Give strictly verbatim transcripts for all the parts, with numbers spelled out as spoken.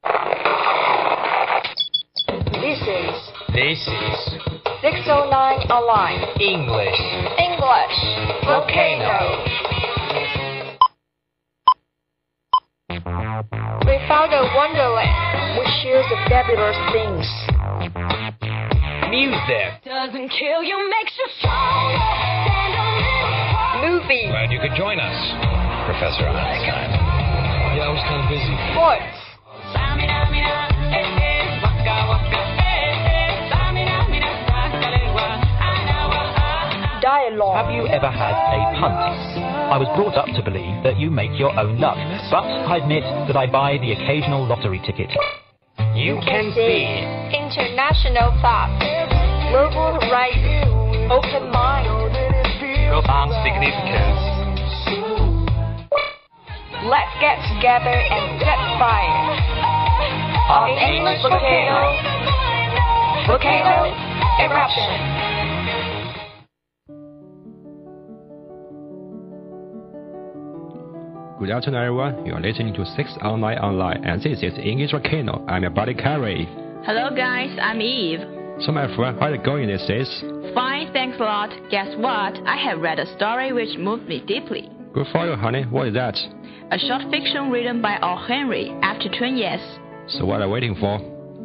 This is This is six oh nine Online English English Volcano. We found a wonderland which shares the fabulous things. Music. Doesn't kill you, makes you stronger. Stand a little Movies, Glad you could join us, Professor Einstein. Yeah, I was kind of busy. sports, dialogue. Have you ever had a punt? I was brought up to believe that you make your own luck, but I admit that I buy the occasional lottery ticket. You can see international thoughts, global horizons, open mind. profound significance. Let's get together and set fire. On English Volcano, Volcano Eruption. Good afternoon, everyone. You are listening to six oh nine Online, and this is English Volcano. I'm your buddy Carrie. Hello guys, I'm Eve. So, my friend, how are you going these days? Fine, thanks a lot. Guess what? I have read a story which moved me deeply. Good for you, honey. What is that? A short fiction written by O. Henry after twenty years. So, what are you waiting for?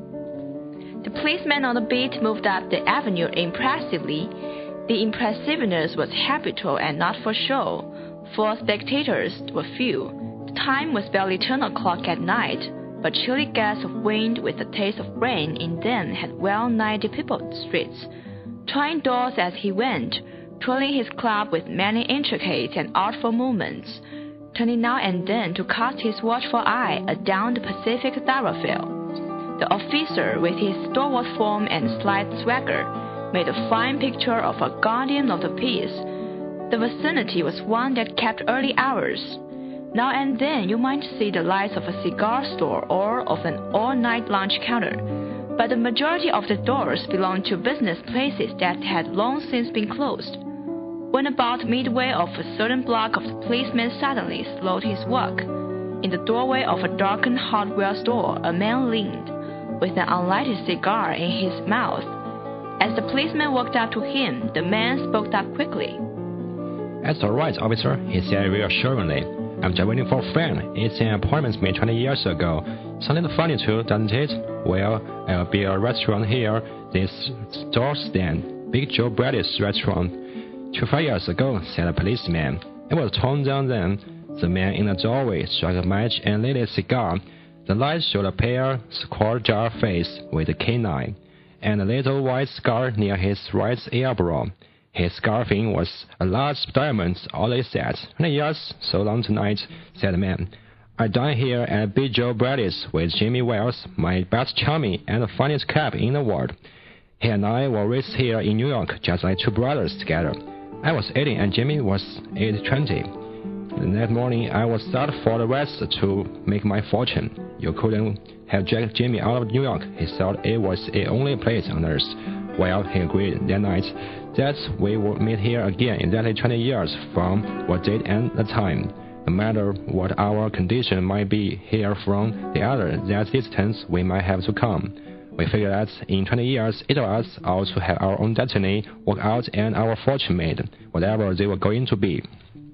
The policeman on the beat moved up the avenue impressively. The impressiveness was habitual and not for show, for spectators were few. The time was barely ten o'clock at night, but chilly gusts of wind with a taste of rain in them had well nigh depeopled the streets. Trying doors as he went, twirling his club with many intricate and artful movements, turning now and then to cast his watchful eye adown the Pacific thoroughfare. The officer, with his stalwart form and slight swagger, made a fine picture of a guardian of the peace. The vicinity was one that kept early hours. Now and then you might see the lights of a cigar store or of an all-night lunch counter, but the majority of the doors belonged to business places that had long since been closed. When about midway of a certain block of the policeman suddenly slowed his walk. In the doorway of a darkened hardware store a man leaned, with an unlighted cigar in his mouth. As the policeman walked up to him, the man spoke up quickly. That's all right, officer, he said reassuringly. I'm just waiting for a friend. It's an appointment made twenty years ago. Something funny too, doesn't it? Well, there'll be a restaurant here. This store stand, Big Joe Brady's restaurant. Two-five years ago, said the policeman. It was torn down then. The man in the doorway struck a match and lit a cigar. The light showed a pale, square-jar face with a canine, and a little white scar near his right eyebrow. His scarfing was a large diamond, all he said. Twenty years, so long tonight, said the man. I dine here at Big Joe Brady's with Jimmy Wells, my best chummy and the funniest cab in the world. He and I were raised here in New York, just like two brothers together. I was eighteen and Jimmy was age twenty. That morning, I was out for the West to make my fortune. You couldn't have dragged Jimmy out of New York. He thought it was the only place on earth. Well, he agreed that night that we would meet here again exactly twenty years from what date and the time. No matter what our condition might be here from the other, that distance we might have to come. We figured that in twenty years, each of us ought to have our own destiny worked out and our fortune made, whatever they were going to be.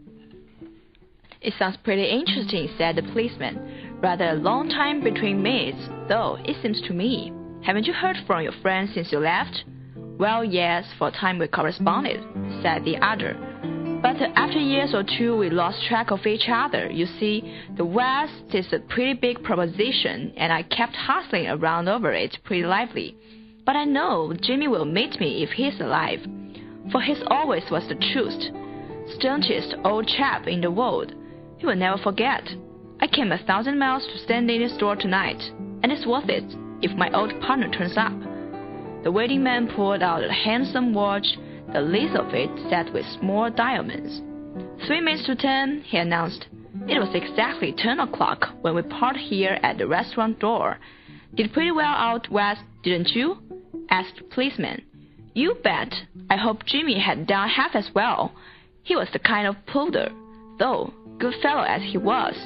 It sounds pretty interesting, said the policeman. Rather a long time between meets, though, it seems to me. Haven't you heard from your friend since you left? Well, yes, for a time we corresponded, said the other. But after years or two we lost track of each other. You see, the West is a pretty big proposition, and I kept hustling around over it pretty lively. But I know Jimmy will meet me if he's alive, for he's always was the truest, staunchest old chap in the world. He will never forget. I came a thousand miles to stand in his door tonight, and it's worth it if my old partner turns up. The waiting man pulled out a handsome watch, the least of it set with small diamonds. Three minutes to ten, he announced. It was exactly ten o'clock when we parted here at the restaurant door. Did pretty well out west, didn't you? Asked the policeman. You bet. I hope Jimmy had done half as well. He was the kind of puller, though, good fellow as he was.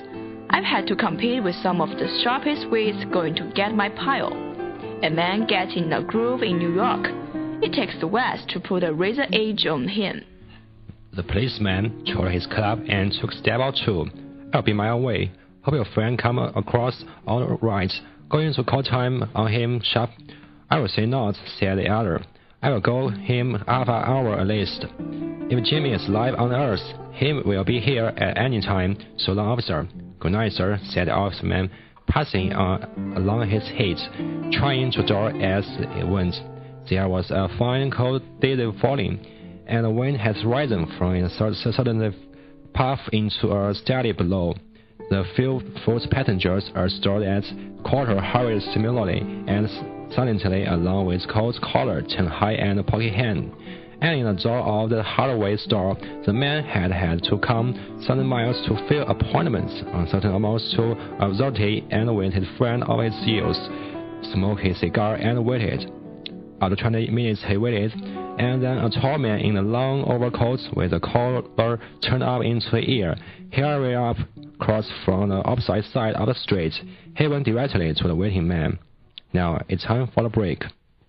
I've had to compete with some of the sharpest wits going to get my pile. A man gets in a groove in New York. It takes the West to put a razor edge on him. The policeman chose his club and took a step or two. I'll be my own way. Hope your friend come across all right. Going to call time on him sharp. I will say not, said the other. I will go him half an hour at least. If Jimmy is alive on earth, he will be here at any time. So long, officer. Good night, sir, said the officerman, passing on along his head, trying to draw as it went. There was a fine cold day falling, and the wind has risen from a sudden puff into a steady blow. The few foot passengers are stored at quarter hurried similarly and silently along with coat collar, chin high and pocket hand. And in the door of the hardware store, the man had had to come seven miles to fill appointments, uncertain almost to absurdity, and waited friend of his youth, smoked his cigar and waited. After twenty minutes he waited, and then a tall man in a long overcoat with a collar turned up into the ear, hurried up across from the opposite side of the street. He went directly to the waiting man. Now it's time for the break.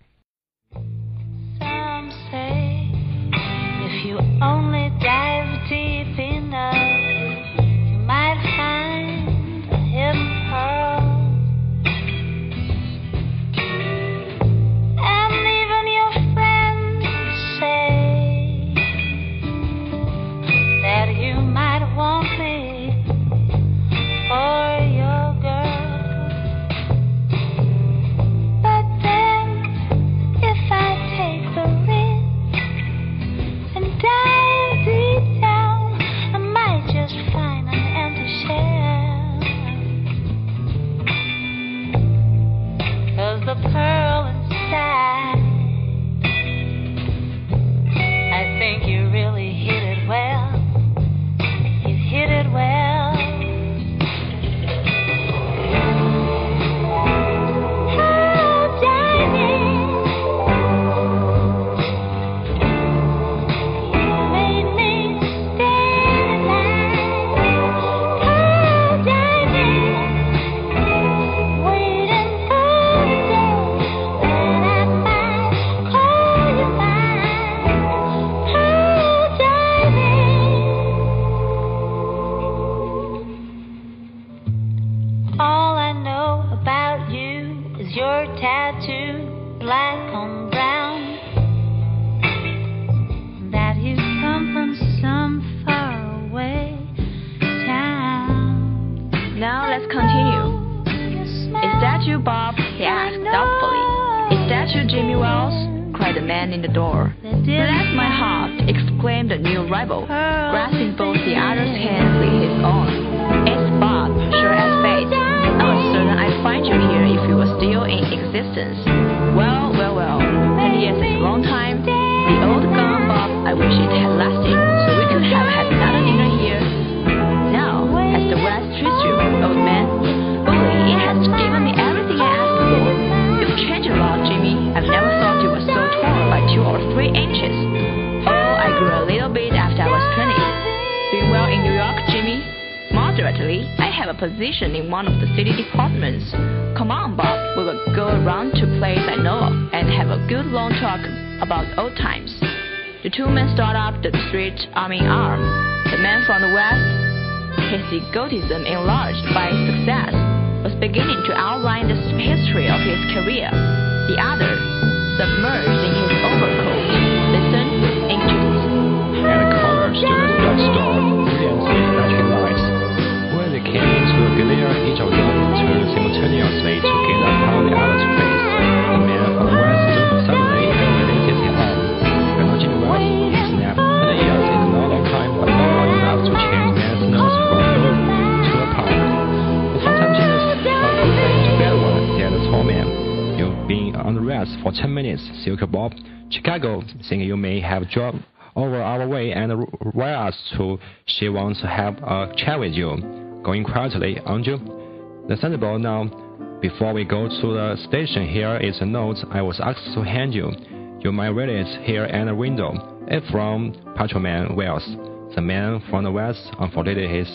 Some say if you only dive deep enough, you might find a hidden pearl. And even your friends say that you might want me for your girl. But then, if I take the risk and dive deep down, I might just find an empty shell. 'Cause the pearl inside, I think you really hit it well. You hit it well. All I know about you is your tattoo, black on brown. That you come from some far away town. Now let's continue. Is that you, Bob? He asked doubtfully. Is that you, Jimmy Wells? Cried the man in the door. Bless my heart, exclaimed the new arrival, grasping both the other's hands in his own. It's Bob, sure as fate. I was certain I'd find you here if you were still in existence. Well, well, well. Twenty years is a long time. The old gone Bob, I wish it had lasted, so we could have had another dinner here. Now, as the West treats you, old man, bully, it has given me everything I asked for. You've changed a lot, Jimmy. I've never thought you were so torn by two or three inches. Oh, I grew a little bit after I was twenty. Doing well in New York, Jimmy? Moderately. I have a position in one of the city departments. Come on, Bob. We will go around to a place I know of and have a good long talk about old times. The two men started up the street arm in arm. The man from the West, his egotism enlarged by success, was beginning to outline the history of his career. The other, submerged in his overcoat, listened anxiously. At the corner stood a drugstore, brilliant with flashing lights. When they came into the glare, each of them turned simultaneously to gaze upon the other's face. The man from the West suddenly elevated his arm. You're not Jimmy Wells, he snapped. Twenty years is not a long time, but not long enough to change man's nose from your to a pump. But sometimes Jimmy's a too bad one, said the tall man. You've been on the rest for ten minutes, Silky Bob. Chicago, think you may have dropped over our way and wire us to. She wants to have a chat with you. Going quietly, aren't you? The sensible now. Before we go to the station, here is a note I was asked to hand you. You might read it here at the window. It's from Patrolman Wells. The man from the West unfolded his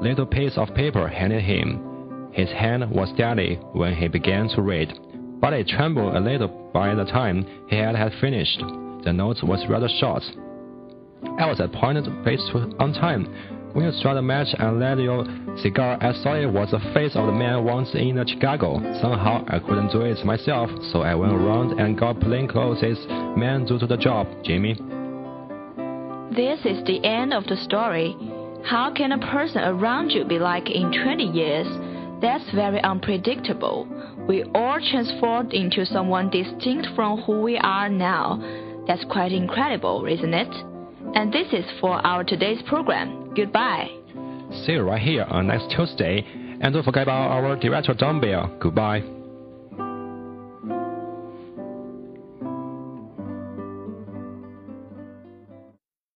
little piece of paper handed him. His hand was steady when he began to read, but it trembled a little by the time he had, had finished. The note was rather short. I was appointed place on time. When you struck the match and lit your cigar, I saw it was the face of the man once in Chicago. Somehow I couldn't do it myself, so I went around and got plainclothes men to do the job, Jimmy. This is the end of the story. How can a person around you be like in twenty years? That's very unpredictable. We all transformed into someone distinct from who we are now. That's quite incredible, isn't it? And this is for our today's program. Goodbye. See you right here on next Tuesday. And don't forget about our director Don Bell. Goodbye.